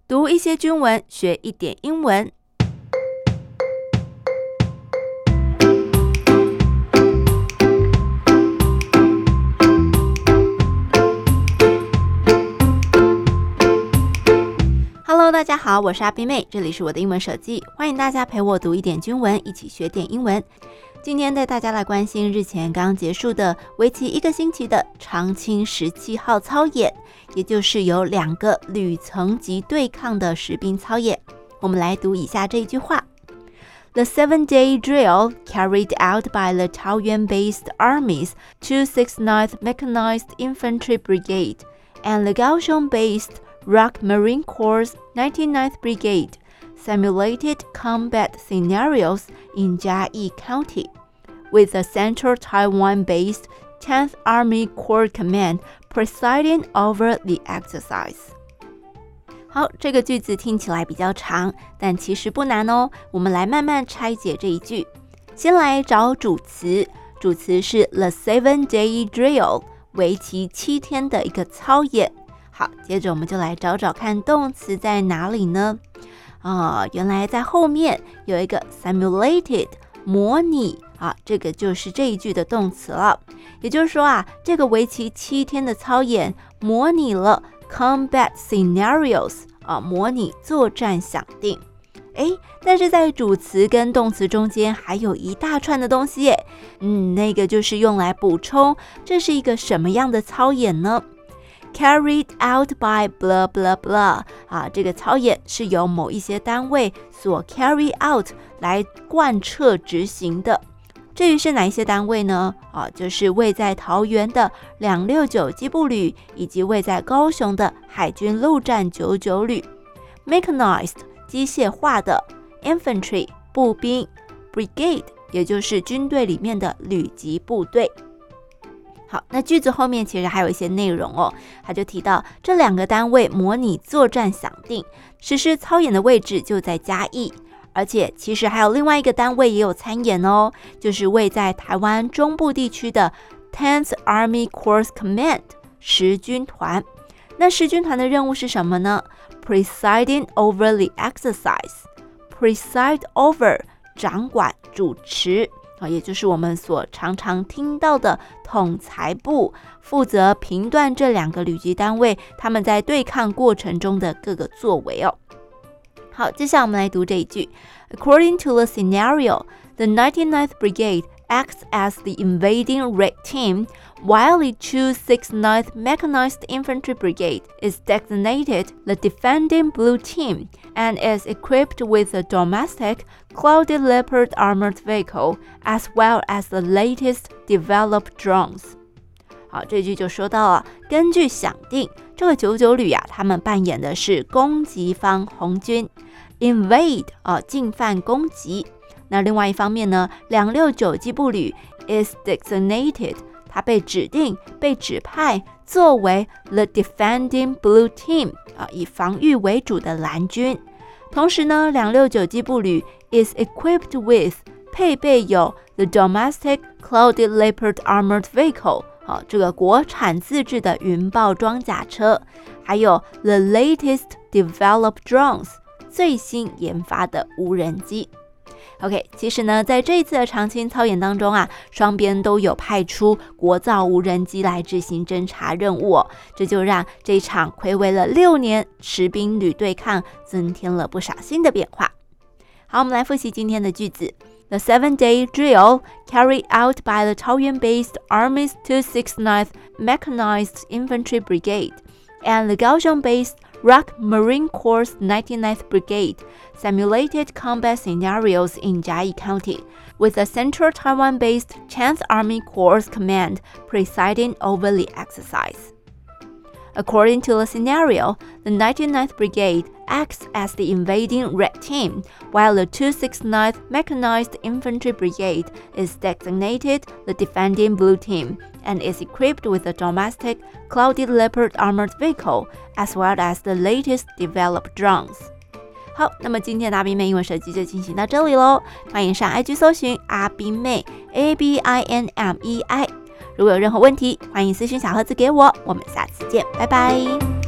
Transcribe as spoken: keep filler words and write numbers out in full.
讀一些軍文，學一點英文。Hello， 大家好，我是阿冰妹，這裡是我的英文手記，歡迎大家陪我讀一點軍文，一起學點英文。今天帶大家來關心日前剛結束的為期一個星期的長青十七號操演，也就是有兩個旅層級對抗的實兵操演。我們來讀以下這一句話 ：The seven-day drill carried out by the Taoyuan-based Army's two sixty-ninth Mechanized Infantry Brigade and the Kaohsiung-based Rock Marine Corps ninety-ninth Brigade simulated combat scenarios in Jiayi County, with the Central Taiwan-based tenth Army Corps Command presiding over the exercise. 好，這個句子聽起來比較長，但其實不難哦。我們來慢慢拆解這一句。先來找主詞，主詞是 the seven-day drill， 為期七天的一個操演。好，接着我們就來找找看動詞在哪裡呢？啊、哦，原來在後面有一個 simulated 模擬啊，這個就是這一句的動詞了。也就是說啊，這個為期七天的操演模擬了 combat scenarios 啊，模擬作戰想定。誒，但是在主詞跟動詞中間還有一大串的東西耶。嗯，那個就是用來補充這是一個什麼樣的操演呢？Carried out by blah blah blah 啊，這個操演是由某一些單位所 carry out 來貫徹執行的。至於是哪一些單位呢？啊，就是位在桃園的兩六九機步旅，以及位在高雄的海軍陸戰九九旅。Mechanized 機械化的 Infantry 步兵 Brigade 也就是軍隊裡面的旅級部隊。好，那句子後面其實還有一些內容哦，他就提到這兩個單位模擬作戰想定，實施操演的位置就在嘉義，而且其實還有另外一個單位也有參演哦，就是位在台灣中部地區的 tenth Army Corps Command 十軍團。那十軍團的任務是什麼呢？ Presiding over the exercise， preside over 掌管主持。啊，也就是我們所常常聽到的統裁部，負責評斷這兩個旅級單位他們在對抗過程中的各個作為哦。好，接下來我們來讀這一句 According to the scenario, the ninety-ninth Brigade acts as the invading red team, while the two sixty-ninth Mechanized Infantry Brigade is designated the defending blue team and is equipped with a domestic Clouded Leopard armored vehicle, as well as the latest developed drones. 好，這句就說到了，根據想定，這個九九旅啊，他們扮演的是攻擊方紅軍 ，invade 啊，進犯攻擊。那另外一方面呢，兩六九機步旅 is designated， 它被指定、被指派作為 the defending blue team 啊，以防禦為主的藍軍。同時呢，兩六九機步旅 is equipped with 配備有 the domestic Clouded Leopard armored vehicle 啊，這個國產自制的雲豹裝甲車，還有 the latest developed drones 最新研發的無人機。OK， 其實呢，在這一次的長青操演當中啊，雙邊都有派出國造無人機來執行偵察任務哦，這就讓這一場睽違了六年實兵旅對抗增添了不少新的變化。好，我們來複習今天的句子。The seven-day drill carried out by the Taoyuan-based Army's two sixty-ninth Mechanized Infantry Brigade and the Kaohsiung-based Rock Marine Corps ninety-ninth Brigade simulated combat scenarios in Jiayi County, with the Central Taiwan-based tenth Army Corps Command presiding over the exercise. According to the scenario, the ninety-ninth Brigade acts as the invading red team, while the two sixty-ninth Mechanized Infantry Brigade is designated the defending blue team and is equipped with a domestic Clouded Leopard armored vehicle, as well as the latest developed drones. 好，那麼今天的阿冰妹英文手機就進行到這裡嘍，歡迎上 I G 搜尋阿冰妹 A B I N M E I。如果有任何問題，歡迎私訊小盒子給我，我們下次見，拜拜。